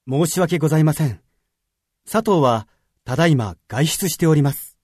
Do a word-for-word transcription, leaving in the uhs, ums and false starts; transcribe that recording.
申し訳ございません。佐藤はただいま外出しております。